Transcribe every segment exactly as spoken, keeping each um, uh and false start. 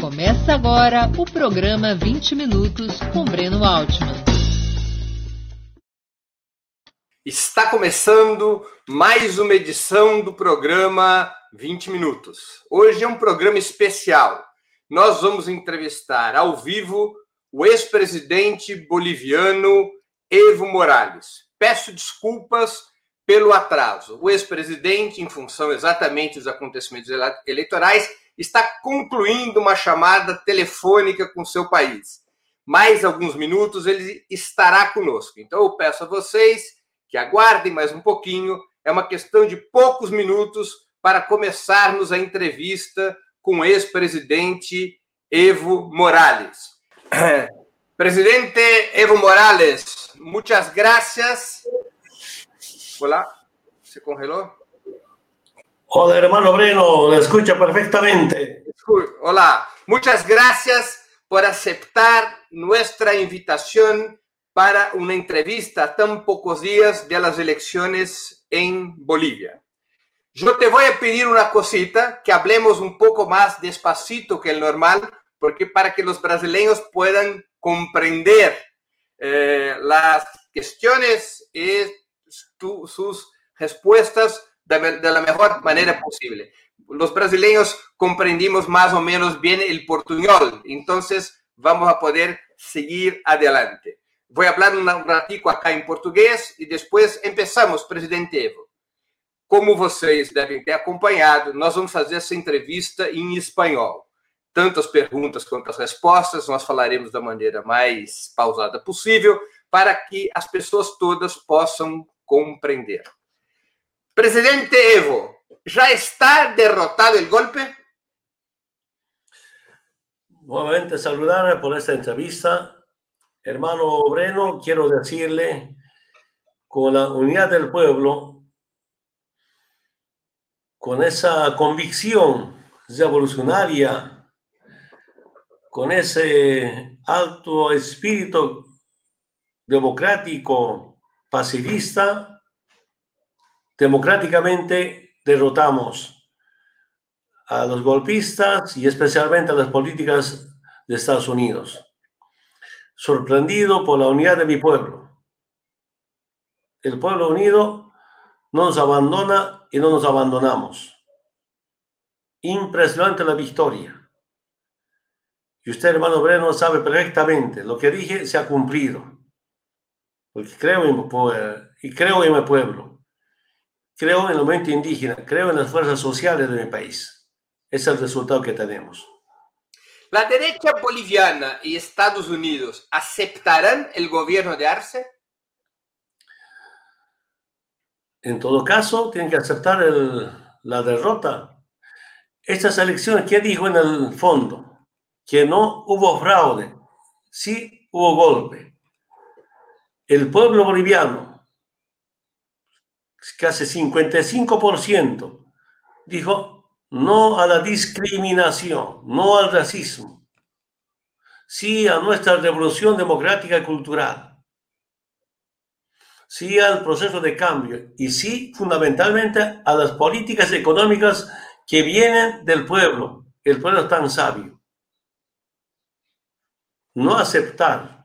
Começa agora o programa vinte minutos com Breno Altman. Está começando mais uma edição do programa vinte minutos. Hoje é um programa especial. Nós vamos entrevistar ao vivo o ex-presidente boliviano Evo Morales. Peço desculpas pelo atraso. O ex-presidente, em função exatamente dos acontecimentos eleitorais, está concluindo uma chamada telefônica com seu país. Mais alguns minutos ele estará conosco. Então eu peço a vocês que aguardem mais um pouquinho. É uma questão de poucos minutos para começarmos a entrevista com o ex-presidente Evo Morales. Presidente Evo Morales, muchas gracias. Hola, ¿se congeló? Hola, hermano Breno, lo escucha perfectamente. Hola, muchas gracias por aceptar nuestra invitación para una entrevista a tan pocos días de las elecciones en Bolivia. Yo te voy a pedir una cosita, que hablemos un poco más despacito que el normal, porque para que los brasileños puedan comprender eh, las cuestiones y tu, sus respuestas de, de la mejor manera posible. Los brasileños comprendimos más o menos bien el portuñol, entonces vamos a poder seguir adelante. Voy a hablar un ratico acá em português e depois empezamos, presidente Evo. Como vocês devem ter acompanhado, nós vamos fazer essa entrevista em espanhol. Tanto as perguntas quanto as respostas, nós falaremos da maneira mais pausada possível para que as pessoas todas possam compreender. Presidente Evo, ¿ya está derrotado el golpe? Nuevamente saludarle por esta entrevista. Hermano Breno, quiero decirle, con la unidad del pueblo, con esa convicción revolucionaria, con ese alto espíritu democrático, pacifista, democráticamente derrotamos a los golpistas y especialmente a las políticas de Estados Unidos. Sorprendido por la unidad de mi pueblo. El pueblo unido no nos abandona y no nos abandonamos. Impresionante la victoria. Y usted, hermano Breno, sabe perfectamente lo que dije se ha cumplido. Porque creo en mi pueblo, y creo en mi pueblo. Creo en el movimiento indígena, creo en las fuerzas sociales de mi país. Ese es el resultado que tenemos. ¿La derecha boliviana y Estados Unidos aceptarán el gobierno de Arce? En todo caso, tienen que aceptar el, la derrota. Estas elecciones, ¿qué dijo en el fondo? Que no hubo fraude, sí hubo golpe. El pueblo boliviano, casi cincuenta y cinco por ciento, dijo no a la discriminación, no al racismo, sí a nuestra revolución democrática y cultural, sí al proceso de cambio y sí fundamentalmente a las políticas económicas que vienen del pueblo. El pueblo es tan sabio. No aceptar,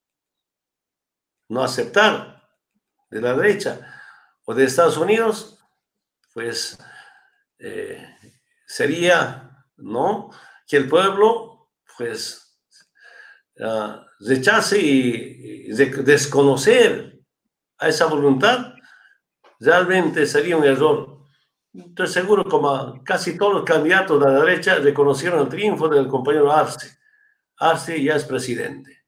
no aceptar de la derecha o de Estados Unidos, pues eh, sería, ¿no?, que el pueblo, pues, uh, rechace y, y de, desconocer a esa voluntad, realmente sería un error. Estoy seguro como casi todos los candidatos de la derecha reconocieron el triunfo del compañero Arce. Arce ya es presidente.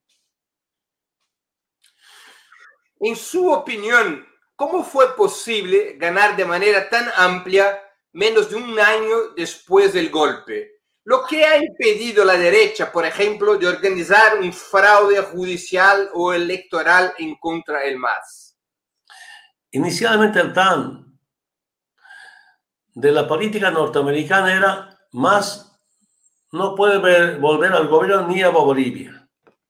En su opinión, ¿cómo fue posible ganar de manera tan amplia menos de un año después del golpe? Lo que ha impedido a la derecha, por ejemplo, de organizar un fraude judicial o electoral en contra del M A S. Inicialmente el plan de la política norteamericana era M A S no puede ver, volver al gobierno ni a Bolivia.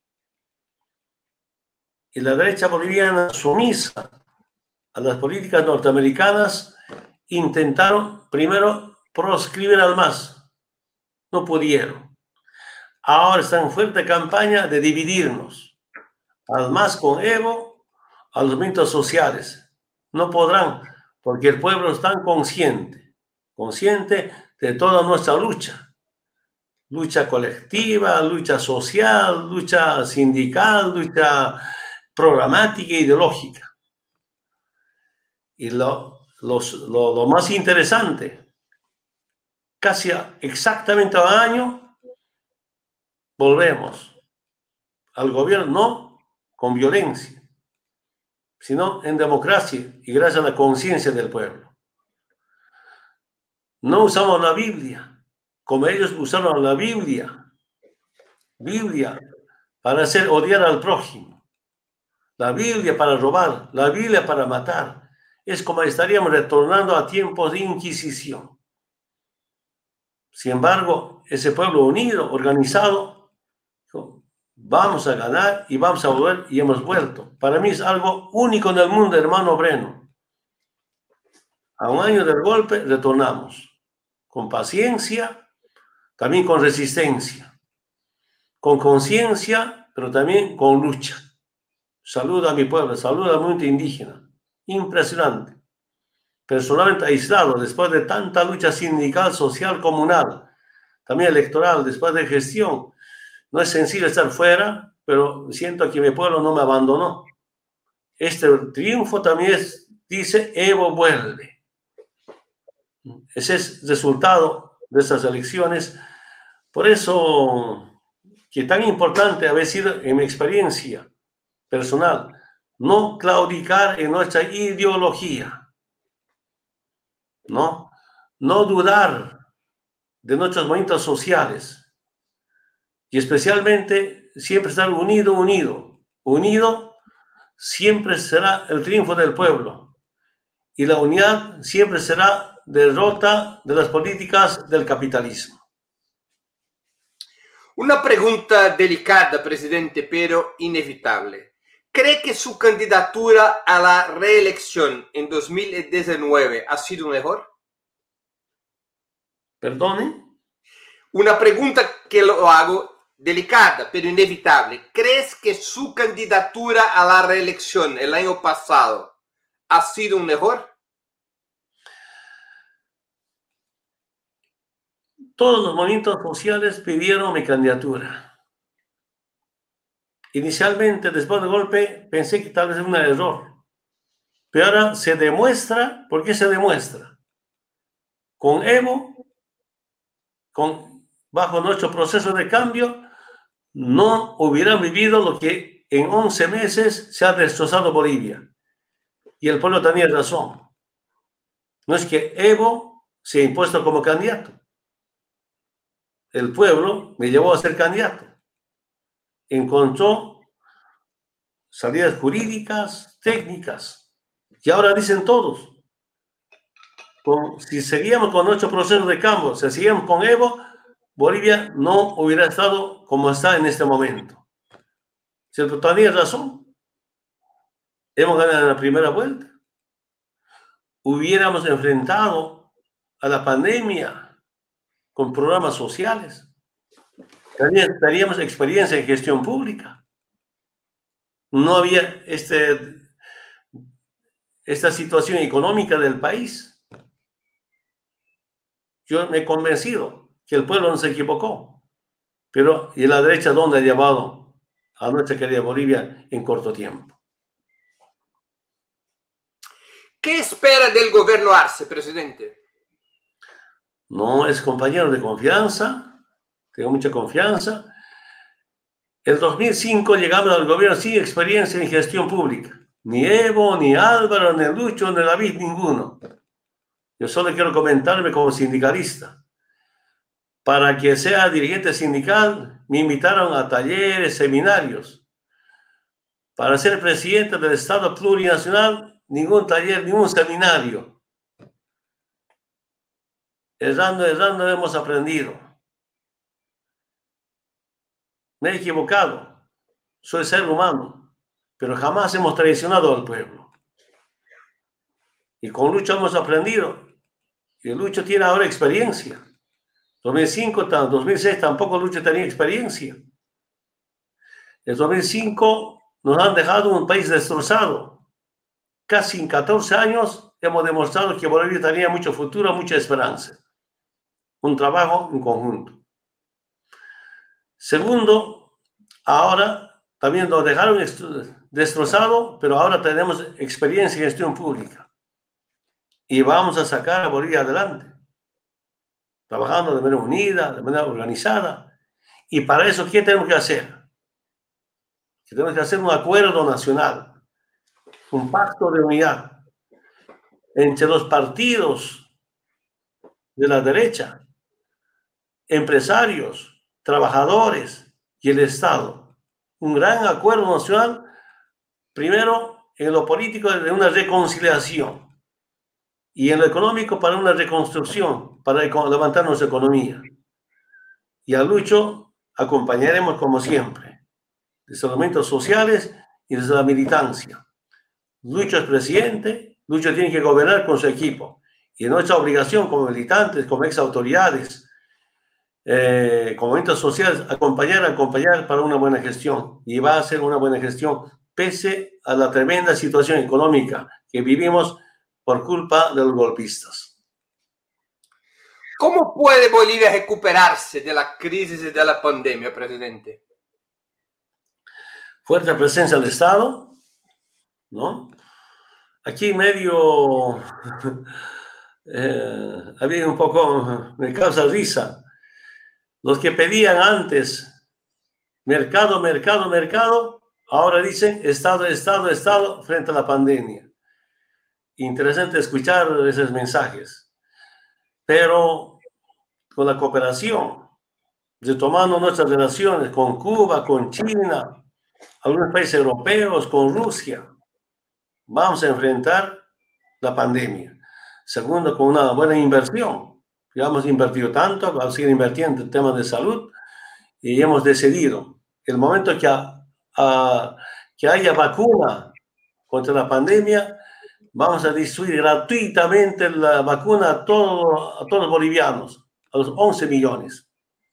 Y la derecha boliviana, sumisa a las políticas norteamericanas, intentaron primero proscribir al M A S. No pudieron. ahora están en fuerte campaña de dividirnos. Además, con Evo, a los movimientos sociales. No podrán, porque el pueblo está consciente, consciente de toda nuestra lucha. Lucha colectiva, lucha social, lucha sindical, lucha programática e ideológica. Y lo, los, lo, lo más interesante, casi exactamente a un año, volvemos al gobierno, no con violencia, sino en democracia y gracias a la conciencia del pueblo. No usamos la Biblia, como ellos usaron la Biblia, Biblia para hacer odiar al prójimo, la Biblia para robar, la Biblia para matar. Es como estaríamos retornando a tiempos de Inquisición. Sin embargo, ese pueblo unido, organizado, vamos a ganar y vamos a volver y hemos vuelto. Para mí es algo único en el mundo, hermano Breno. A un año del golpe retornamos con paciencia, también con resistencia, con conciencia, pero también con lucha. Saludo a mi pueblo, saludo al mundo indígena. Impresionante. Personalmente aislado, después de tanta lucha sindical, social, comunal, también electoral, después de gestión. No es sencillo estar fuera, pero siento que mi pueblo no me abandonó. Este triunfo también es, dice, Evo vuelve. Ese es el resultado de estas elecciones. Por eso, que tan importante haber sido en mi experiencia personal, no claudicar en nuestra ideología, no, no dudar de nuestros movimientos sociales y especialmente siempre estar unido, unido, unido siempre será el triunfo del pueblo y la unidad siempre será derrota de las políticas del capitalismo. Una pregunta delicada, presidente, pero inevitable. ¿Cree que su candidatura a la reelección en dos mil diecinueve ha sido un error? ¿Perdone? Una pregunta que lo hago delicada, pero inevitable. ¿Crees que su candidatura a la reelección el año pasado ha sido un error? Todos los movimientos sociales pidieron mi candidatura. Inicialmente, después del golpe, pensé que tal vez era un error. Pero ahora se demuestra, ¿por qué se demuestra? Con Evo, con, bajo nuestro proceso de cambio, no hubiera vivido lo que en once meses se ha destrozado Bolivia. Y el pueblo tenía razón. No es que Evo se ha impuesto como candidato. El pueblo me llevó a ser candidato. Encontró salidas jurídicas, técnicas, que ahora dicen todos. Con, si seguíamos con nuestro proceso de cambio, si seguíamos con Evo, Bolivia no hubiera estado como está en este momento. ¿Cierto? Tenía razón. Hemos ganado en la primera vuelta. Hubiéramos enfrentado a la pandemia con programas sociales. Teníamos experiencia en gestión pública. No había este, esta situación económica del país. Yo me he convencido que el pueblo no se equivocó. Pero, ¿y la derecha dónde ha llevado a nuestra querida Bolivia en corto tiempo? ¿Qué espera del gobierno Arce, presidente? No es compañero de confianza, tengo mucha confianza. En dos mil cinco llegamos al gobierno sin experiencia en gestión pública. Ni Evo, ni Álvaro, ni Lucho, ni David, ninguno. Yo solo quiero comentarme como sindicalista. Para que sea dirigente sindical, me invitaron a talleres, seminarios. Para ser presidente del Estado plurinacional, ningún taller, ningún seminario. Errando, errando hemos aprendido. Me he equivocado. Soy ser humano, pero jamás hemos traicionado al pueblo. Y con Lucho hemos aprendido. Y Lucho tiene ahora experiencia. dos mil cinco, dos mil seis tampoco Lucho tenía experiencia. En dos mil cinco nos han dejado un país destrozado. Casi en catorce años hemos demostrado que Bolivia tenía mucho futuro, mucha esperanza. Un trabajo en conjunto. Segundo, ahora también nos dejaron destrozado, pero ahora tenemos experiencia en gestión pública. Y vamos a sacar a Bolivia adelante. Trabajando de manera unida, de manera organizada. Y para eso, ¿qué tenemos que hacer? Que tenemos que hacer un acuerdo nacional, un pacto de unidad entre los partidos de la derecha, empresarios, trabajadores y el Estado. Un gran acuerdo nacional, primero en lo político de una reconciliación y en lo económico para una reconstrucción, para levantar nuestra economía. Y a Lucho acompañaremos como siempre, desde los movimientos sociales y desde la militancia. Lucho es presidente, Lucho tiene que gobernar con su equipo. Y es nuestra obligación como militantes, como ex autoridades, eh, como movimientos sociales, acompañar, acompañar para una buena gestión. Y va a ser una buena gestión, pese a la tremenda situación económica que vivimos por culpa de los golpistas. ¿Cómo puede Bolivia recuperarse de la crisis y de la pandemia, presidente? Fuerte presencia del Estado, ¿no? Aquí medio eh, había un poco, me causa risa, los que pedían antes mercado, mercado, mercado, ahora dicen Estado, Estado, Estado frente a la pandemia. Interesante escuchar esos mensajes, pero con la cooperación, retomando nuestras relaciones con Cuba, con China, algunos países europeos, con Rusia, vamos a enfrentar la pandemia. Segundo, con una buena inversión. Ya hemos invertido tanto, vamos a seguir invirtiendo en temas de salud y hemos decidido, el momento que, a, a, que haya vacuna contra la pandemia, vamos a distribuir gratuitamente la vacuna a todos, a todos los bolivianos, a los once millones.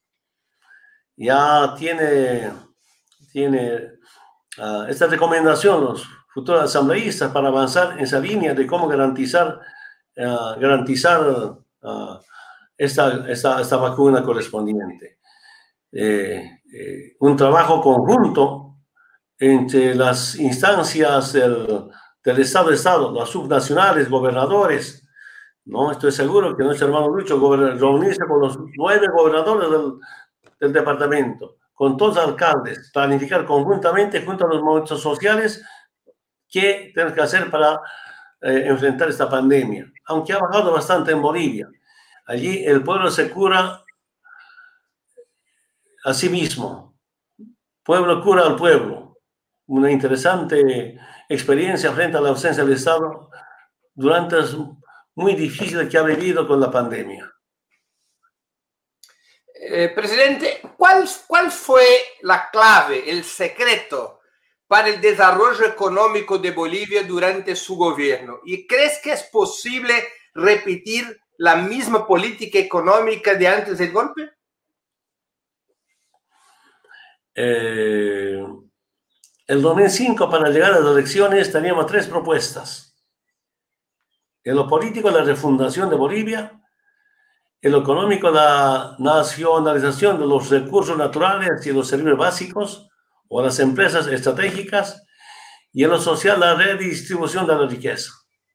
Ya tiene, tiene uh, esta recomendación los futuros asambleístas para avanzar en esa línea de cómo garantizar, uh, garantizar uh, esta, esta, esta vacuna correspondiente. Eh, eh, un trabajo conjunto entre las instancias del, del Estado de Estado, las subnacionales, gobernadores, ¿no? Estoy seguro que nuestro hermano Lucho reunirse con los nueve gobernadores del, del departamento, con todos los alcaldes, planificar conjuntamente junto a los movimientos sociales qué tenemos que hacer para eh, enfrentar esta pandemia. Aunque ha bajado bastante en Bolivia, allí el pueblo se cura a sí mismo. Pueblo cura al pueblo. Una interesante experiencia frente a la ausencia del Estado durante muy difícil que ha vivido con la pandemia. Eh, presidente, ¿cuál, ¿cuál fue la clave, el secreto para el desarrollo económico de Bolivia durante su gobierno? ¿Y crees que es posible repetir la misma política económica de antes del golpe? Eh, el dos mil cinco, para llegar a las elecciones, teníamos tres propuestas. En lo político, la refundación de Bolivia. En lo económico, la nacionalización de los recursos naturales y los servicios básicos o las empresas estratégicas. Y en lo social, la redistribución de la riqueza.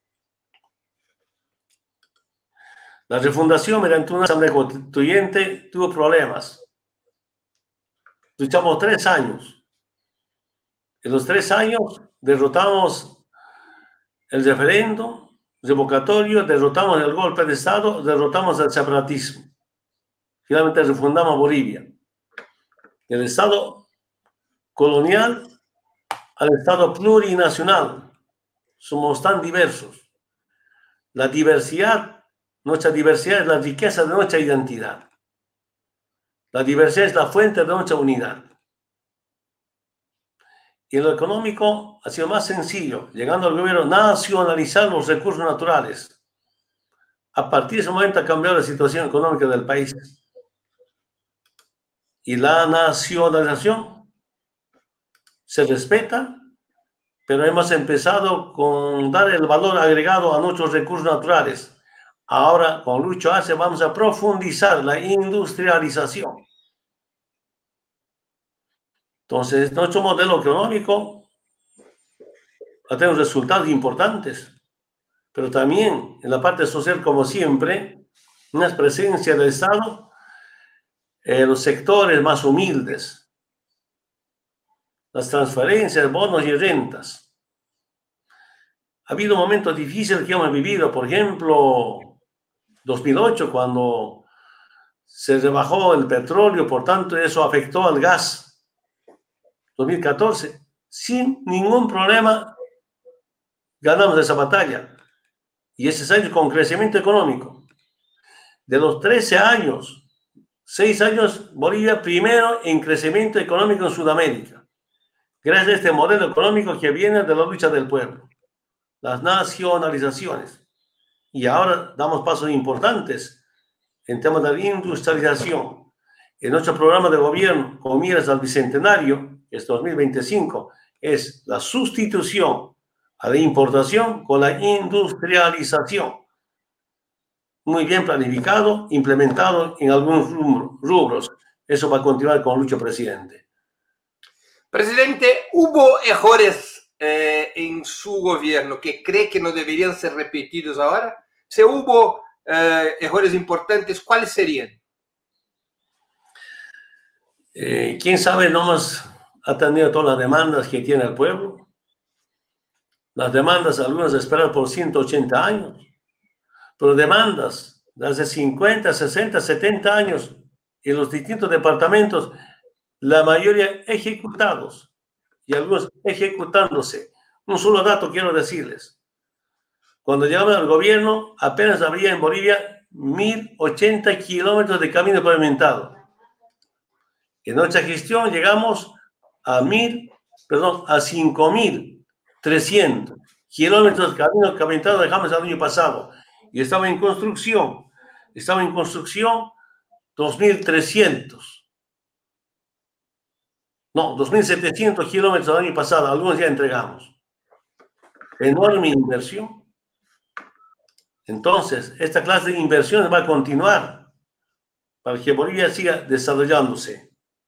La refundación mediante una asamblea constituyente tuvo problemas. Luchamos tres años. En los tres años derrotamos el referéndum revocatorio, derrotamos el golpe de Estado, derrotamos el separatismo. Finalmente refundamos Bolivia. Del Estado colonial al Estado plurinacional. Somos tan diversos. La diversidad, nuestra diversidad es la riqueza de nuestra identidad. La diversidad es la fuente de nuestra unidad. Y en lo económico ha sido más sencillo, llegando al gobierno, nacionalizar los recursos naturales. A partir de ese momento ha cambiado la situación económica del país. y la nacionalización se respeta, pero hemos empezado con dar el valor agregado a nuestros recursos naturales. Ahora, con Lucho Arce, vamos a profundizar la industrialización. Entonces, nuestro modelo económico ha tenido resultados importantes, pero también en la parte social, como siempre, una presencia del Estado en los sectores más humildes, las transferencias, bonos y rentas. Ha habido momentos difíciles que hemos vivido, por ejemplo, dos mil ocho, cuando se rebajó el petróleo, por tanto, eso afectó al gas. dos mil catorce, sin ningún problema, ganamos esa batalla. Y ese año con crecimiento económico. De los trece años, seis años, Bolivia primero en crecimiento económico en Sudamérica. Gracias a este modelo económico que viene de la lucha del pueblo. Las nacionalizaciones. Y ahora damos pasos importantes en temas de industrialización. En nuestro programa de gobierno, con miras al bicentenario, que es dos mil veinticinco, es la sustitución a la importación con la industrialización. Muy bien planificado, implementado en algunos rubros. Eso va a continuar con Lucho, presidente. Presidente, ¿hubo errores eh, en su gobierno que cree que no deberían ser repetidos ahora? Si hubo eh, errores importantes, ¿cuáles serían? Eh, ¿Quién sabe nomás atendido todas las demandas que tiene el pueblo? Las demandas, algunas esperan por ciento ochenta años, pero demandas de hace cincuenta, sesenta, setenta años en los distintos departamentos, la mayoría ejecutados y algunos ejecutándose. Un solo dato quiero decirles. Cuando llegamos al gobierno, apenas había en Bolivia mil ochenta kilómetros de camino pavimentado. En nuestra gestión llegamos a mil, perdón, a cinco mil trescientos kilómetros de camino pavimentado dejamos el año pasado. Y estaba en construcción, estaba en construcción dos mil trescientos. No, dos mil setecientos kilómetros el año pasado, algunos ya entregamos. Enorme inversión. Entonces, esta clase de inversiones va a continuar para que Bolivia siga desarrollándose.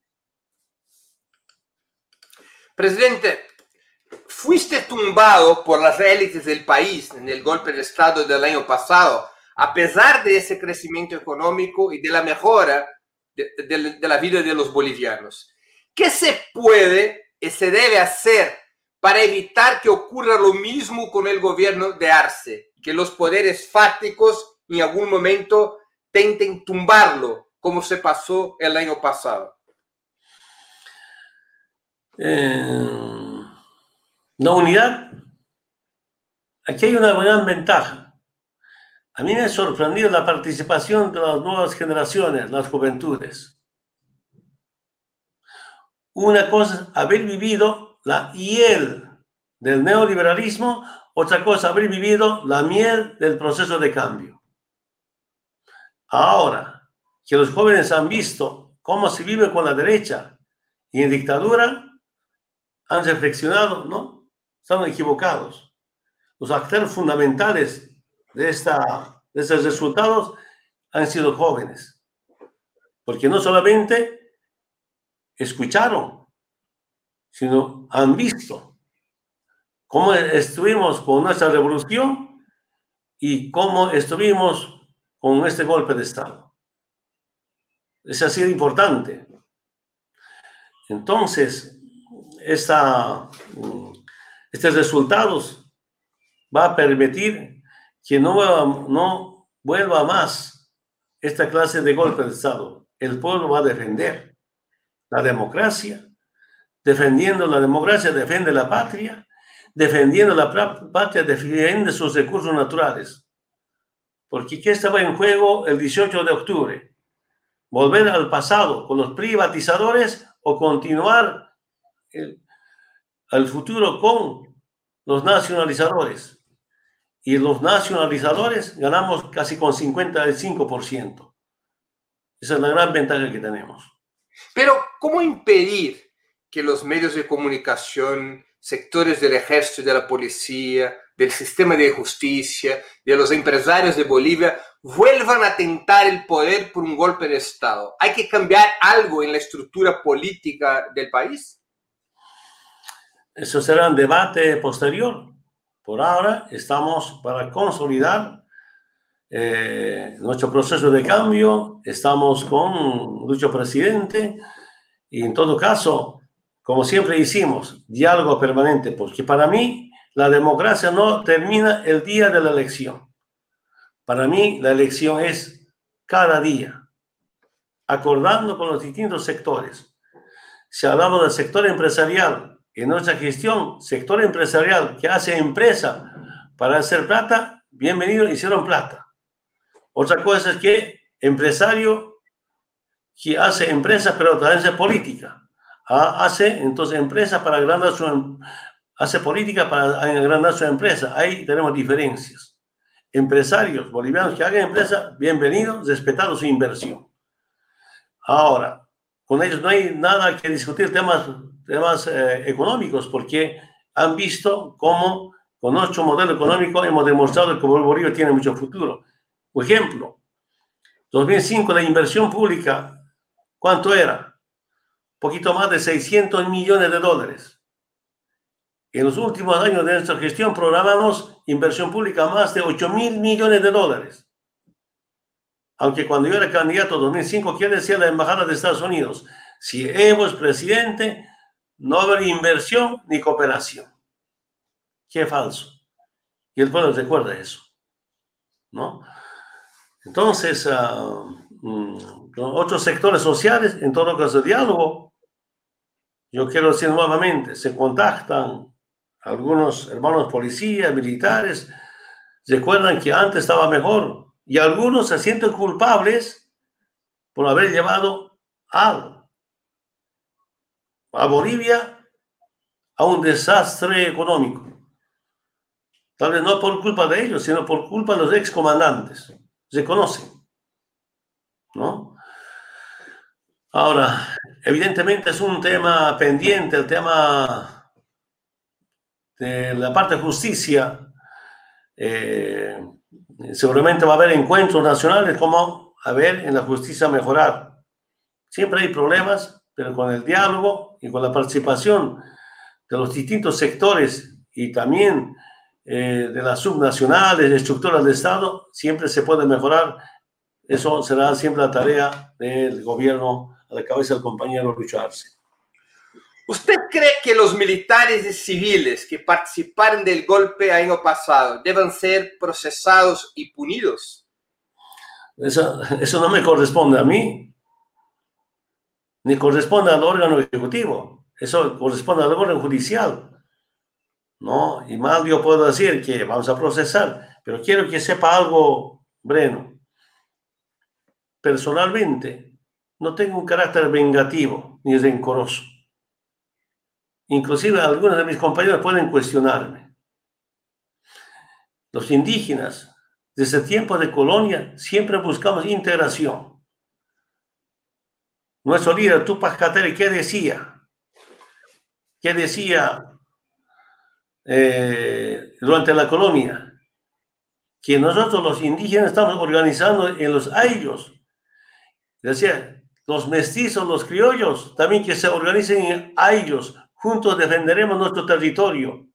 Presidente, fuiste tumbado por las élites del país en el golpe de Estado del año pasado, a pesar de ese crecimiento económico y de la mejora de, de, de la vida de los bolivianos. ¿Qué se puede y se debe hacer para evitar que ocurra lo mismo con el gobierno de Arce, que los poderes fácticos en algún momento tenten tumbarlo, como se pasó el año pasado? Eh, la unidad. Aquí hay una gran ventaja. A mí me ha sorprendido la participación de las nuevas generaciones, las juventudes. Una cosa es haber vivido la hiel del neoliberalismo, otra cosa haber vivido la miel del proceso de cambio. Ahora que los jóvenes han visto cómo se vive con la derecha y en dictadura, han reflexionado, ¿no? Están equivocados. Los actores fundamentales de, esta, de estos resultados han sido jóvenes, porque no solamente escucharon, sino han visto cómo estuvimos con nuestra revolución y cómo estuvimos con este golpe de Estado. Eso ha sido importante. Entonces, esta, estos resultados va a permitir que no vuelva, no vuelva más esta clase de golpe de Estado. El pueblo va a defender la democracia. Defendiendo la democracia, defiende la patria. Defendiendo la patria, defiende sus recursos naturales. Porque ¿qué estaba en juego el dieciocho de octubre? ¿Volver al pasado con los privatizadores o continuar el, al futuro con los nacionalizadores? Y los nacionalizadores ganamos casi con cincuenta y cinco por ciento. Esa es la gran ventaja que tenemos. Pero, ¿cómo impedir que los medios de comunicación, sectores del ejército y de la policía, del sistema de justicia, de los empresarios de Bolivia, vuelvan a tentar el poder por un golpe de Estado? ¿Hay que cambiar algo en la estructura política del país? Eso será un debate posterior. Por ahora estamos para consolidar eh, nuestro proceso de cambio, estamos con nuestro presidente y en todo caso, como siempre hicimos, diálogo permanente, porque para mí la democracia no termina el día de la elección. Para mí la elección es cada día, acordando con los distintos sectores. Si hablamos del sector empresarial, en nuestra gestión, sector empresarial que hace empresa para hacer plata, bienvenido, hicieron plata. Otra cosa es que empresario que hace empresa, pero también hace política. Hace entonces empresa para agrandar su, hace política para agrandar su empresa. Ahí tenemos diferencias. Empresarios bolivianos que hagan empresa, bienvenidos, respetado su inversión. Ahora, con ellos no hay nada que discutir temas, temas eh, económicos, porque han visto cómo con nuestro modelo económico hemos demostrado que Bolivia tiene mucho futuro. Por ejemplo, dos mil cinco la inversión pública, ¿cuánto era? Un poquito más de seiscientos millones de dólares. En los últimos años de nuestra gestión programamos inversión pública más de ocho mil millones de dólares. Aunque cuando yo era candidato en dos mil cinco, ¿qué decía la Embajada de Estados Unidos? Si Evo es presidente, no habrá inversión ni cooperación. Qué falso. Y el pueblo recuerda eso, ¿no? Entonces, uh, um, otros sectores sociales, en todo caso de diálogo, yo quiero decir nuevamente, se contactan algunos hermanos policías, militares, recuerdan que antes estaba mejor, y algunos se sienten culpables por haber llevado a, a Bolivia a un desastre económico. Tal vez no por culpa de ellos, sino por culpa de los excomandantes. Se conocen, ¿no? Ahora, evidentemente es un tema pendiente, el tema de la parte de justicia. Eh, seguramente va a haber encuentros nacionales como a ver en la justicia mejorar. Siempre hay problemas, pero con el diálogo y con la participación de los distintos sectores y también eh, de las subnacionales, de estructuras de Estado, siempre se puede mejorar. Eso será siempre la tarea del gobierno a la cabeza del compañero Lucho Arce. ¿Usted cree que los militares y civiles que participaron del golpe año pasado deben ser procesados y punidos? Eso, eso no me corresponde a mí, ni corresponde al órgano ejecutivo. Eso corresponde al órgano judicial, ¿no? Y mal yo puedo decir que vamos a procesar, pero quiero que sepa algo, Breno. Personalmente, no tengo un carácter vengativo ni rencoroso. Inclusive algunos de mis compañeros pueden cuestionarme. Los indígenas, desde tiempos de colonia, siempre buscamos integración. Nuestro líder, Túpac Katari, ¿qué decía? ¿Qué decía eh, durante la colonia? Que nosotros los indígenas estamos organizando en los ayllus. Decía, los mestizos, los criollos, también que se organicen en ayllus. Juntos defenderemos nuestro territorio.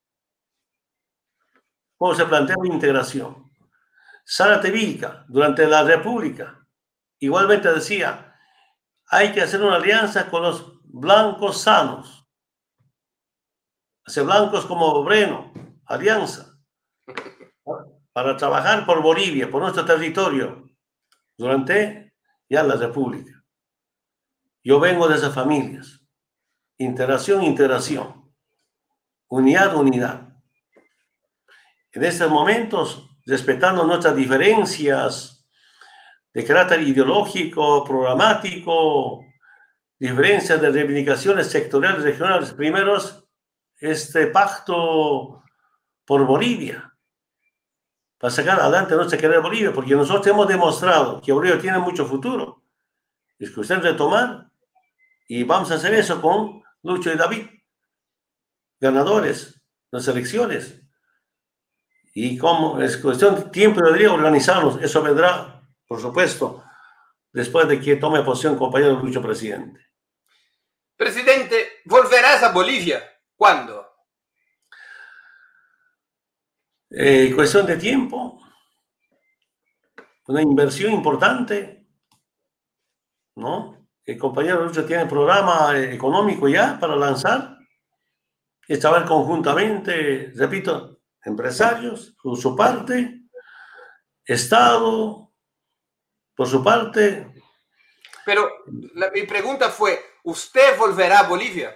¿Cómo se plantea la integración? Zárate Vilca, durante la República, igualmente decía, hay que hacer una alianza con los blancos sanos. Hacer blancos como Breno, alianza, para trabajar por Bolivia, por nuestro territorio, durante ya la República. Yo vengo de esas familias. Integración, integración. Unidad, unidad. En estos momentos, respetando nuestras diferencias de carácter ideológico, programático, diferencias de reivindicaciones sectoriales, regionales, primeros, este pacto por Bolivia, para sacar adelante nuestra querida Bolivia, porque nosotros hemos demostrado que Bolivia tiene mucho futuro. Es cuestión de retomar Y vamos a hacer eso con Lucho y David, ganadores de las elecciones. Y como es cuestión de tiempo, debería organizarnos. Eso vendrá, por supuesto, después de que tome posición el compañero Lucho presidente. Presidente, ¿volverás a Bolivia? ¿Cuándo? Eh, cuestión de tiempo, una inversión importante, ¿no? El compañero Lucho tiene programa económico ya para lanzar. Estaban conjuntamente, repito, empresarios, por su parte, Estado, por su parte. Pero la, mi pregunta fue, ¿usted volverá a Bolivia?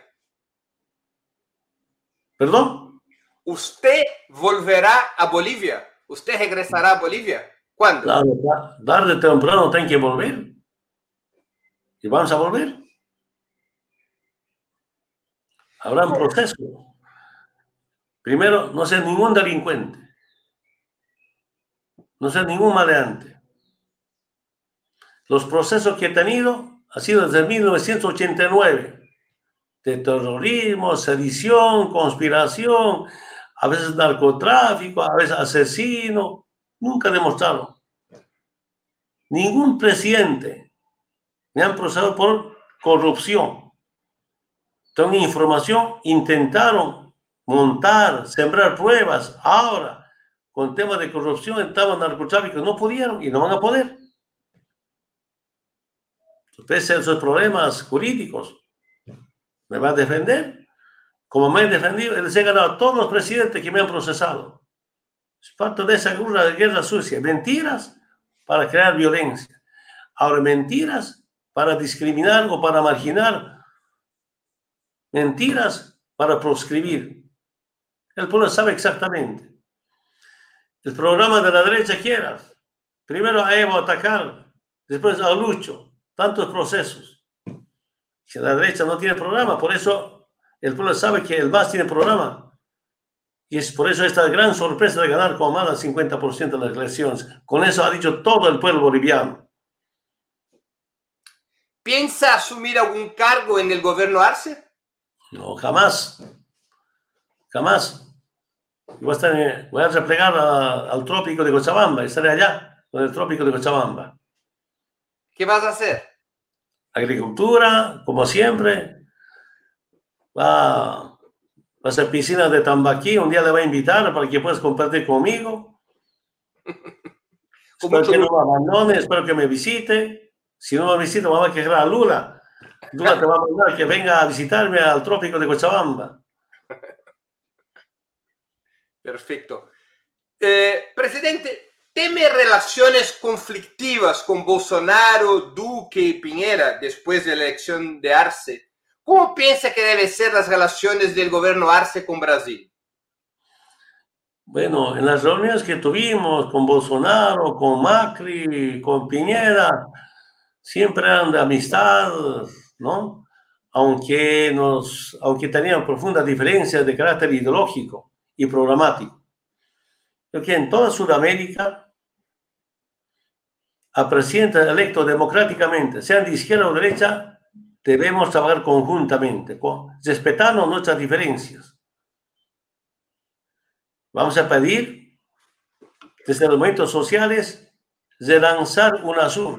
¿Perdón? ¿Usted volverá a Bolivia? ¿Usted regresará a Bolivia? ¿Cuándo? Claro, tarde o temprano tienen que volver. Y vamos a volver. Habrá un proceso. Primero, no ser ningún delincuente. No ser ningún maleante. Los procesos que he tenido han sido desde mil novecientos ochenta y nueve. De terrorismo, sedición, conspiración, a veces narcotráfico, a veces asesino. Nunca demostraron. Ningún presidente me han procesado por corrupción. Tengo información, intentaron montar, sembrar pruebas. Ahora, con temas de corrupción, en temas de narcotráfico, no pudieron y no van a poder. Pese a esos problemas jurídicos, me va a defender. Como me he defendido, les he ganado a todos los presidentes que me han procesado. Es parte de esa guerra, guerra sucia. Mentiras para crear violencia. Ahora, mentiras para discriminar o para marginar. Mentiras para proscribir. El pueblo sabe exactamente. El programa de la derecha quiera. Primero a Evo atacar, después a Lucho. Tantos procesos. Si la derecha no tiene programa, por eso el pueblo sabe que el M A S tiene programa. Y es por eso esta gran sorpresa de ganar con más del cincuenta por ciento de las elecciones. Con eso ha dicho todo el pueblo boliviano. ¿Piensa asumir algún cargo en el gobierno Arce? No, jamás. Jamás. Voy a, estar, voy a replegar a, al trópico de Cochabamba. Estaré allá, con el trópico de Cochabamba. ¿Qué vas a hacer? Agricultura, como siempre. Va, va a ser piscina de Tambaquí. Un día le voy a invitar para que puedas compartir conmigo. Espero que no me abandone, espero que me visite. Si no me visita, me va a quejar a Lula. Lula te va a mandar que venga a visitarme al trópico de Cochabamba. Perfecto. Eh, presidente, ¿teme relaciones conflictivas con Bolsonaro, Duque y Piñera después de la elección de Arce? ¿Cómo piensa que deben ser las relaciones del gobierno Arce con Brasil? Bueno, en las reuniones que tuvimos con Bolsonaro, con Macri, con Piñera, siempre eran de amistad, ¿no? Aunque, nos, aunque tenían profundas diferencias de carácter ideológico y programático. Porque en toda Sudamérica, a presidentes electos democráticamente, sean de izquierda o derecha, debemos trabajar conjuntamente, respetando nuestras diferencias. Vamos a pedir, desde los movimientos sociales, relanzar UNASUR.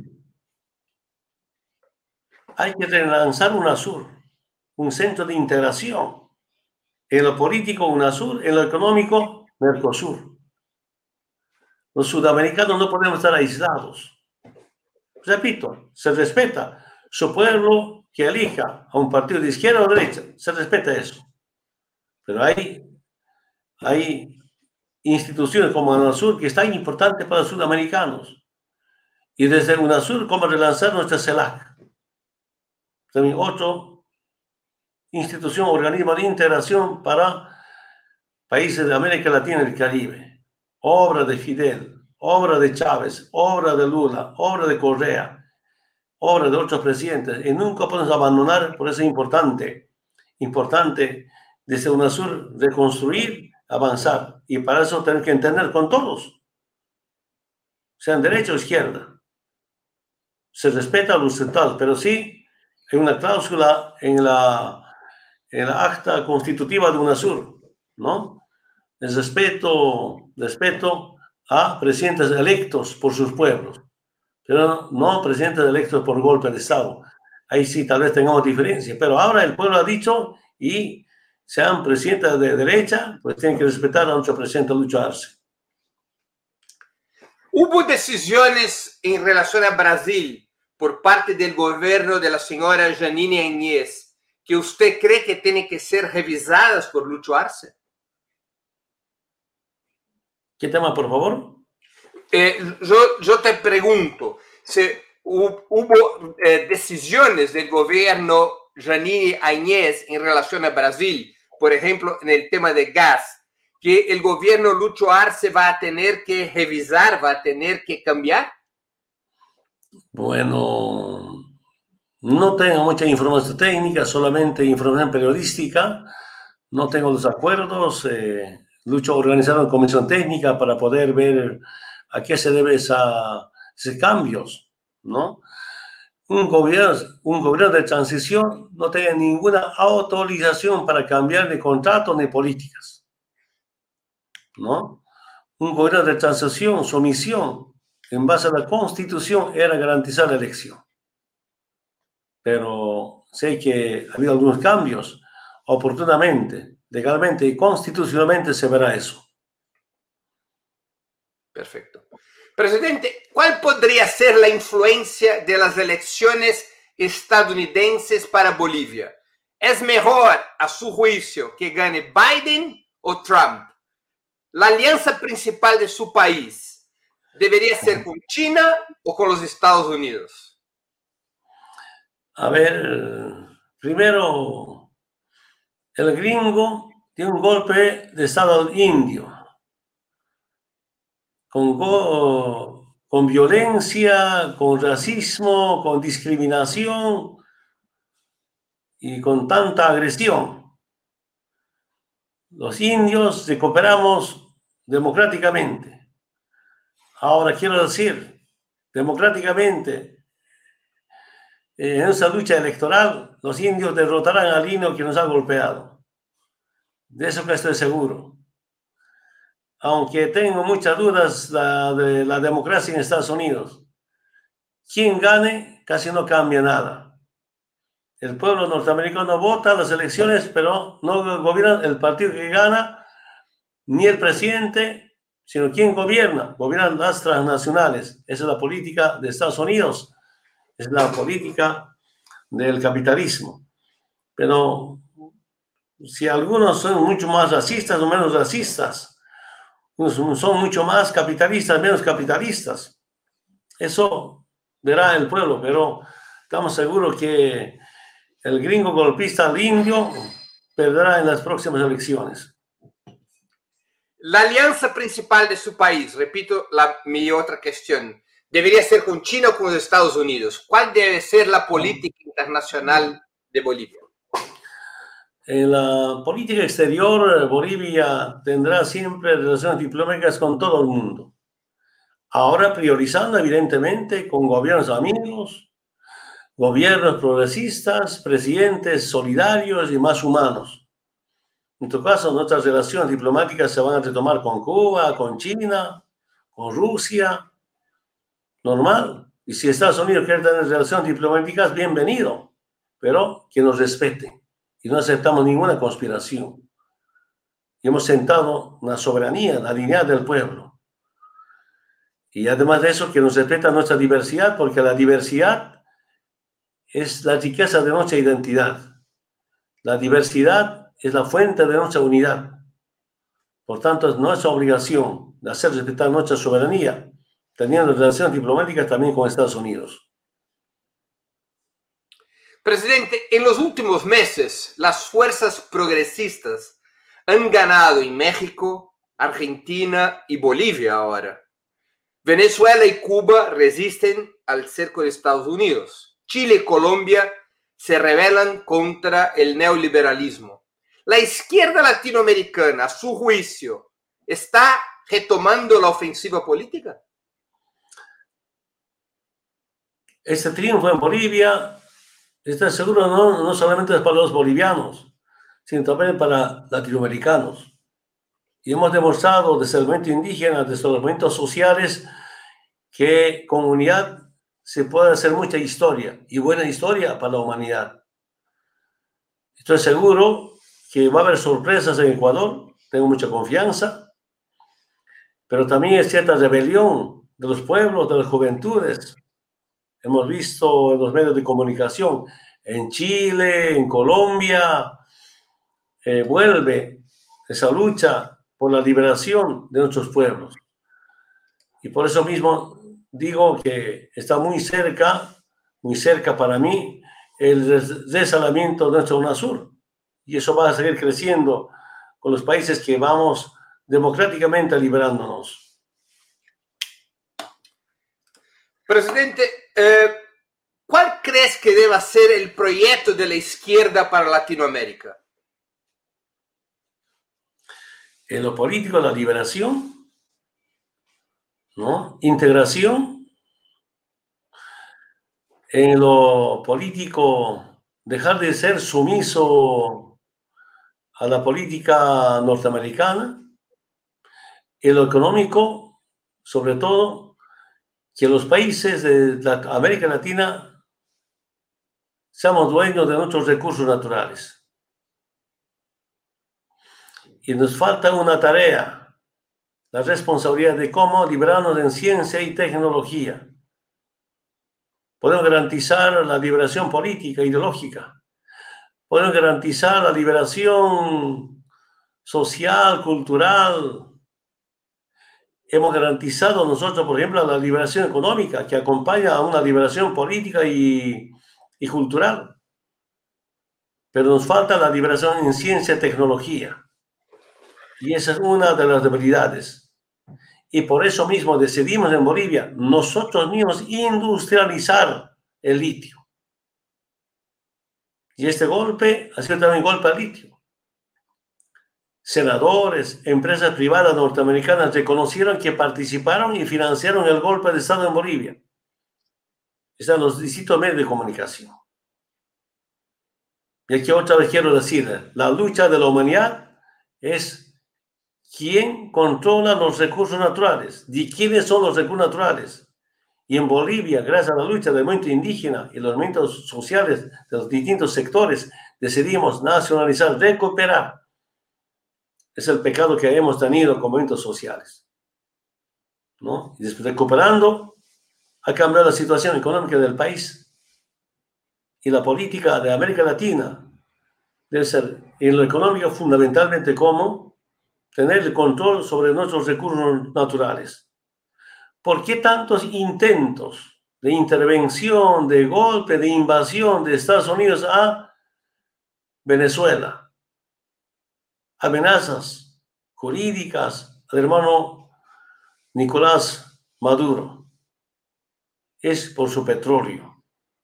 Hay que relanzar UNASUR, un centro de integración. En lo político, UNASUR, en lo económico, Mercosur. Los sudamericanos no podemos estar aislados. Repito, se respeta su pueblo que elija a un partido de izquierda o derecha. Se respeta eso. Pero hay, hay instituciones como UNASUR que es tan importante para los sudamericanos. Y desde UNASUR, ¿cómo relanzar nuestra CELAC? También otro institución, organismo de integración para países de América Latina y el Caribe. Obra de Fidel, obra de Chávez, obra de Lula, obra de Correa, obra de otros presidentes. Y nunca podemos abandonar, por eso es importante, importante desde UNASUR reconstruir, avanzar. Y para eso tenemos que entender con todos, sean derecha o izquierda. Se respeta a los estados, pero sí hay una cláusula en la, en la acta constitutiva de UNASUR, ¿no? El respeto, respeto a presidentes electos por sus pueblos, pero no presidentes electos por golpe de Estado. Ahí sí tal vez tengamos diferencia, pero ahora el pueblo ha dicho, y sean presidentes de derecha, pues tienen que respetar a nuestro presidente Lucho Arce. ¿Hubo decisiones en relación a Brasil por parte del gobierno de la señora Jeanine Áñez que usted cree que tienen que ser revisadas por Lucho Arce? ¿Qué tema, por favor? Eh, yo, yo te pregunto, si hubo, hubo eh, decisiones del gobierno Jeanine Áñez en relación a Brasil, por ejemplo, en el tema de gas, que el gobierno Lucho Arce va a tener que revisar, va a tener que cambiar? Bueno, no tengo mucha información técnica, solamente información periodística. No tengo los acuerdos. Eh, Lucho organizar una comisión técnica para poder ver a qué se debe esa, esos cambios, ¿no? Un gobierno, un gobierno de transición no tiene ninguna autorización para cambiar de contratos ni políticas, ¿no? Un gobierno de transición, su misión, en base a la Constitución, era garantizar la elección. Pero sé que ha habido algunos cambios, oportunamente, legalmente y constitucionalmente se verá eso. Perfecto. Presidente, ¿cuál podría ser la influencia de las elecciones estadounidenses para Bolivia? ¿Es mejor, a su juicio, que gane Biden o Trump? ¿La alianza principal de su país debería ser con China o con los Estados Unidos? A ver, primero, el gringo tiene un golpe de Estado indio, con, go, con violencia, con racismo, con discriminación y con tanta agresión. Los indios recuperamos democráticamente. Ahora quiero decir, democráticamente, eh, en esa lucha electoral, los indios derrotarán al indio que nos ha golpeado. De eso que estoy seguro. Aunque tengo muchas dudas la, de la democracia en Estados Unidos. Quien gane casi no cambia nada. El pueblo norteamericano vota las elecciones, pero no gobierna el partido que gana, ni el presidente, sino quien gobierna. Gobiernan las transnacionales. Esa es la política de Estados Unidos. Es la política del capitalismo. Pero si algunos son mucho más racistas o menos racistas, son mucho más capitalistas, menos capitalistas. Eso verá el pueblo, pero estamos seguros que el gringo golpista al indio perderá en las próximas elecciones. La alianza principal de su país, repito la, mi otra cuestión, debería ser con China o con los Estados Unidos. ¿Cuál debe ser la política internacional de Bolivia? En la política exterior, Bolivia tendrá siempre relaciones diplomáticas con todo el mundo. Ahora priorizando, evidentemente, con gobiernos amigos, gobiernos progresistas, presidentes solidarios y más humanos. En tu caso, nuestras relaciones diplomáticas se van a retomar con Cuba, con China, con Rusia. Normal. Y si Estados Unidos quiere tener relaciones diplomáticas, bienvenido. Pero que nos respete. Y no aceptamos ninguna conspiración. Y hemos sentado una soberanía, la dignidad del pueblo. Y además de eso, que nos respeta nuestra diversidad, porque la diversidad es la riqueza de nuestra identidad. La diversidad es la fuente de nuestra unidad. Por tanto, es nuestra obligación de hacer respetar nuestra soberanía, teniendo relaciones diplomáticas también con Estados Unidos. Presidente, en los últimos meses, las fuerzas progresistas han ganado en México, Argentina y Bolivia ahora. Venezuela y Cuba resisten al cerco de Estados Unidos. Chile y Colombia se rebelan contra el neoliberalismo. La izquierda latinoamericana, a su juicio, ¿está retomando la ofensiva política? Este triunfo en Bolivia Estoy seguro no, no solamente para los bolivianos, sino también para latinoamericanos. Y hemos demostrado desde el movimiento indígena, desde los movimientos sociales, que con unidad se puede hacer mucha historia y buena historia para la humanidad. Estoy seguro que va a haber sorpresas en Ecuador, tengo mucha confianza, pero también hay cierta rebelión de los pueblos, de las juventudes. Hemos visto en los medios de comunicación, en Chile, en Colombia, eh, vuelve esa lucha por la liberación de nuestros pueblos. Y por eso mismo digo que está muy cerca, muy cerca para mí, el desalamiento de nuestra UNASUR. Y eso va a seguir creciendo con los países que vamos democráticamente liberándonos. Presidente, eh, ¿cuál crees que deba ser el proyecto de la izquierda para Latinoamérica? En lo político, la liberación, ¿no? Integración. En lo político, dejar de ser sumiso a la política norteamericana. En lo económico, sobre todo, que los países de la América Latina seamos dueños de nuestros recursos naturales. Y nos falta una tarea, la responsabilidad de cómo librarnos en ciencia y tecnología. Podemos garantizar la liberación política, ideológica. Podemos garantizar la liberación social, cultural. Hemos garantizado nosotros, por ejemplo, la liberación económica, que acompaña a una liberación política y, y cultural. Pero nos falta la liberación en ciencia y tecnología. Y esa es una de las debilidades. Y por eso mismo decidimos en Bolivia, nosotros mismos, industrializar el litio. Y este golpe ha sido también golpe al litio. Senadores, empresas privadas norteamericanas reconocieron que participaron y financiaron el golpe de Estado en Bolivia. Están los distintos medios de comunicación. Y aquí otra vez quiero decir, la lucha de la humanidad es quién controla los recursos naturales, de quiénes son los recursos naturales. Y en Bolivia, gracias a la lucha del movimiento indígena y los movimientos sociales de los distintos sectores, decidimos nacionalizar, recuperar. Es el pecado que hemos tenido con movimientos sociales, ¿no? Y después, recuperando, ha cambiado la situación económica del país. Y la política de América Latina debe ser, en lo económico, fundamentalmente como tener el control sobre nuestros recursos naturales. ¿Por qué tantos intentos de intervención, de golpe, de invasión de Estados Unidos a Venezuela? Amenazas jurídicas al hermano Nicolás Maduro. Es por su petróleo.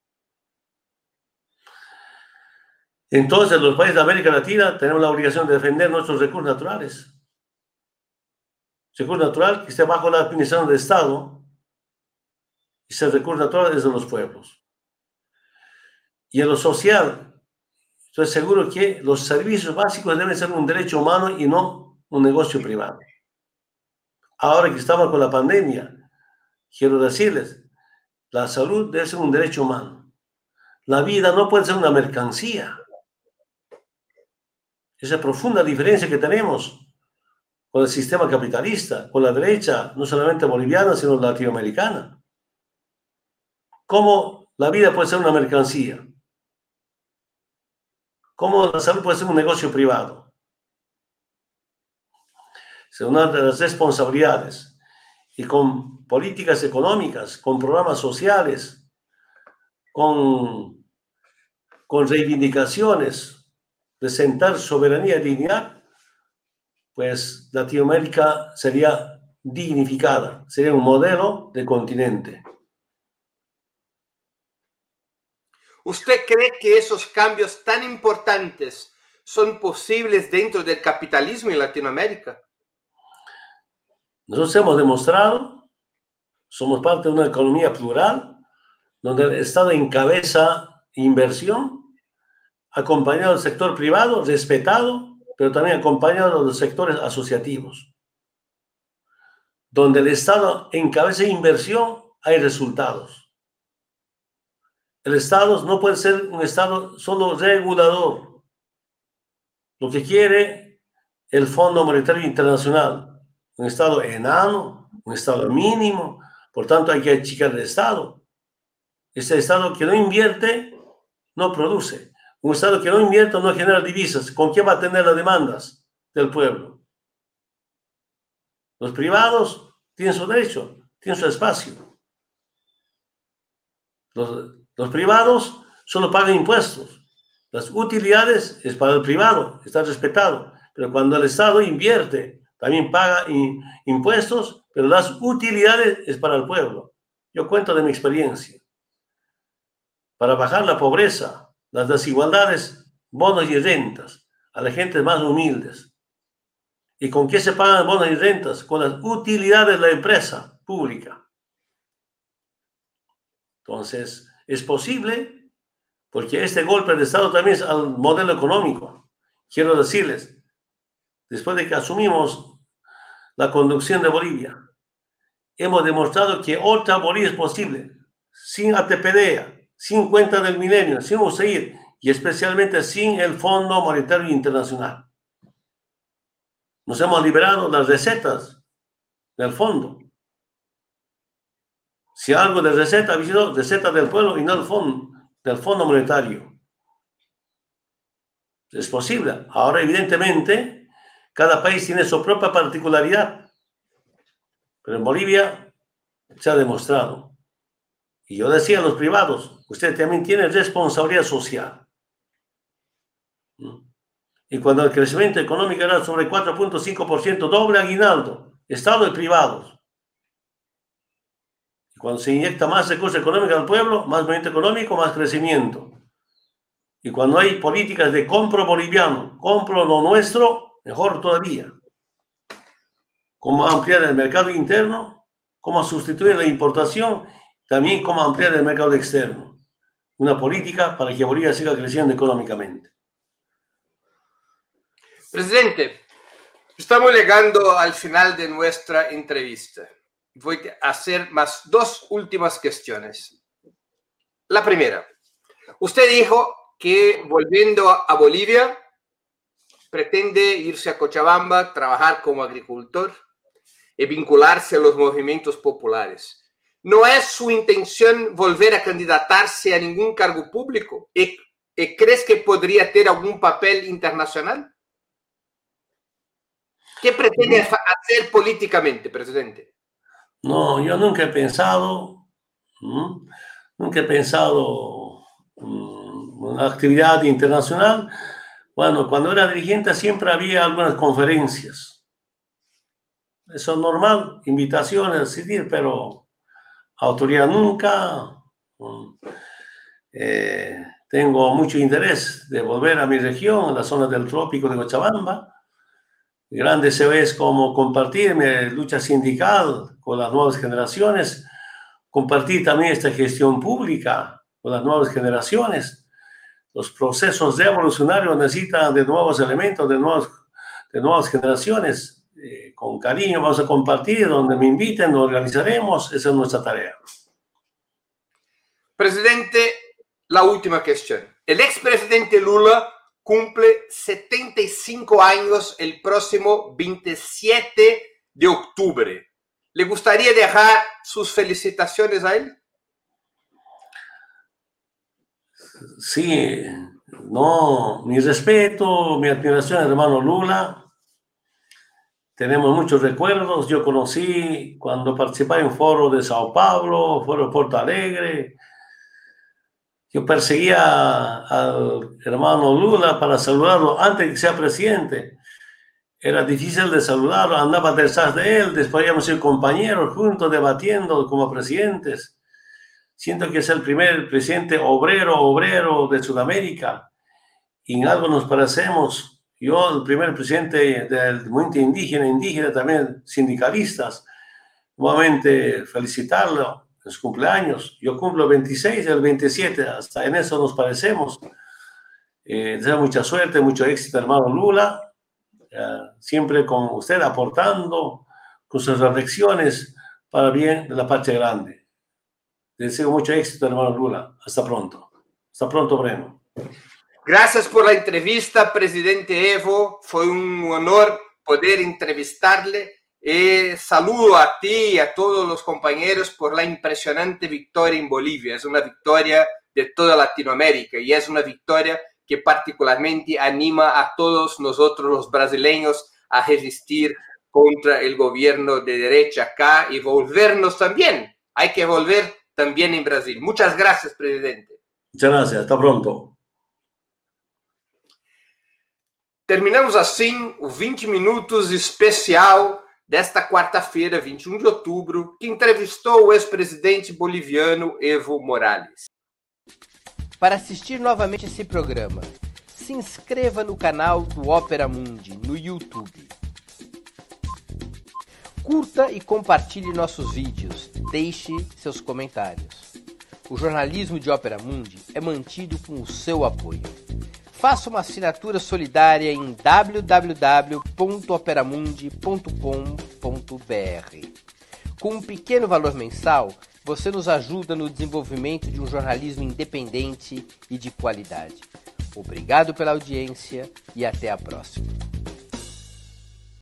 Entonces, los países de América Latina tenemos la obligación de defender nuestros recursos naturales. Recurso natural que esté bajo la administración del Estado, y ese recurso natural es de los pueblos. Y en lo social, estoy seguro que los servicios básicos deben ser un derecho humano y no un negocio privado. Ahora que estamos con la pandemia, quiero decirles, la salud debe ser un derecho humano. La vida no puede ser una mercancía. Esa profunda diferencia que tenemos con el sistema capitalista, con la derecha, no solamente boliviana, sino latinoamericana. ¿Cómo la vida puede ser una mercancía? ¿Cómo la salud puede ser un negocio privado? Es una de las responsabilidades. Y con políticas económicas, con programas sociales, con, con reivindicaciones de sentar soberanía y dignidad, pues Latinoamérica sería dignificada, sería un modelo de continente. ¿Usted cree que esos cambios tan importantes son posibles dentro del capitalismo en Latinoamérica? Nosotros hemos demostrado, somos parte de una economía plural, donde el Estado encabeza inversión, acompañado del sector privado, respetado, pero también acompañado de los sectores asociativos. Donde el Estado encabeza inversión, hay resultados. El Estado no puede ser un Estado solo regulador. Lo que quiere el Fondo Monetario Internacional, un Estado enano, un Estado mínimo, por tanto hay que achicar el Estado. Ese Estado que no invierte, no produce. Un Estado que no invierte no genera divisas. ¿Con qué va a tener las demandas del pueblo? Los privados tienen su derecho, tienen su espacio. Los, los privados solo pagan impuestos. Las utilidades es para el privado, está respetado. Pero cuando el Estado invierte, también paga in, impuestos, pero las utilidades es para el pueblo. Yo cuento de mi experiencia. Para bajar la pobreza, las desigualdades, bonos y rentas a las gentes más humildes. ¿Y con qué se pagan bonos y rentas? Con las utilidades de la empresa pública. Entonces, es posible, porque este golpe de Estado también es al modelo económico. Quiero decirles, después de que asumimos la conducción de Bolivia, hemos demostrado que otra Bolivia es posible, sin A T P D A, sin cuenta del milenio, sin U S A I D y especialmente sin el Fondo Monetario Internacional. Nos hemos liberado las recetas del fondo. Si algo de receta, ha sido receta del pueblo y no del fondo, del Fondo Monetario. Es posible. Ahora, evidentemente, cada país tiene su propia particularidad. Pero en Bolivia se ha demostrado. Y yo decía a los privados, usted también tiene responsabilidad social. Y cuando el crecimiento económico era sobre cuatro punto cinco por ciento, doble aguinaldo, Estado y privados. Y cuando se inyecta más recursos económicos al pueblo, más movimiento económico, más crecimiento. Y cuando hay políticas de compro boliviano, compro lo nuestro, mejor todavía. Cómo ampliar el mercado interno, cómo sustituir la importación, también cómo ampliar el mercado externo. Una política para que Bolivia siga creciendo económicamente. Presidente, estamos llegando al final de nuestra entrevista. Voy a hacer más dos últimas cuestiones. La primera, usted dijo que volviendo a Bolivia pretende irse a Cochabamba, trabajar como agricultor y vincularse a los movimientos populares. ¿No es su intención volver a candidatarse a ningún cargo público? ¿Y, y crees que podría tener algún papel internacional? ¿Qué pretende hacer políticamente, presidente? No, yo nunca he pensado, ¿no? nunca he pensado um, una actividad internacional. Bueno, cuando era dirigente siempre había algunas conferencias. Eso es normal, invitaciones, asistir, pero autoridad nunca. Um, eh, tengo mucho interés de volver a mi región, a la zona del trópico de Cochabamba. Gran deseo es como compartir mi lucha sindical con las nuevas generaciones, compartir también esta gestión pública con las nuevas generaciones. Los procesos revolucionarios necesitan de nuevos elementos, de, nuevos, de nuevas generaciones. Eh, con cariño vamos a compartir, donde me inviten, lo organizaremos, esa es nuestra tarea. Presidente, la última cuestión. El expresidente Lula cumple setenta y cinco años el próximo veintisiete de octubre. ¿Le gustaría dejar sus felicitaciones a él? Sí, no, mi respeto, mi admiración al hermano Lula. Tenemos muchos recuerdos. Yo conocí cuando participaba en foro de Sao Paulo, foro de Porto Alegre. Yo perseguía al hermano Lula para saludarlo antes de que sea presidente. Era difícil de saludarlo, andaba detrás de él, después íbamos a ser compañeros juntos debatiendo como presidentes. Siento que es el primer presidente obrero, obrero de Sudamérica. Y en algo nos parecemos. Yo, el primer presidente del movimiento indígena, indígena también sindicalistas. Nuevamente felicitarlo en su cumpleaños. Yo cumplo veintiséis, el veintisiete, hasta en eso nos parecemos. Eh, deseo mucha suerte, mucho éxito, hermano Lula, eh, siempre con usted aportando con sus reflexiones para el bien de la patria grande. Deseo mucho éxito, hermano Lula. Hasta pronto. Hasta pronto, Breno. Gracias por la entrevista, presidente Evo. Fue un honor poder entrevistarle. Y saludo a ti y a todos los compañeros por la impresionante victoria en Bolivia. Es una victoria de toda Latinoamérica y es una victoria que particularmente anima a todos nosotros los brasileños a resistir contra el gobierno de derecha acá y volvernos también. Hay que volver también en Brasil. Muchas gracias, presidente. Muchas gracias. Hasta pronto. Terminamos assim o vinte minutos especial desta quarta-feira, vinte e um de outubro, que entrevistou o ex-presidente boliviano Evo Morales. Para assistir novamente esse programa, se inscreva no canal do Ópera Mundi no YouTube. Curta e compartilhe nossos vídeos, deixe seus comentários. O jornalismo de Ópera Mundi é mantido com o seu apoio. Faça uma assinatura solidária em w w w ponto operamundi ponto com ponto b r. Com um pequeno valor mensal, você nos ajuda no desenvolvimento de um jornalismo independente e de qualidade. Obrigado pela audiência e até a próxima.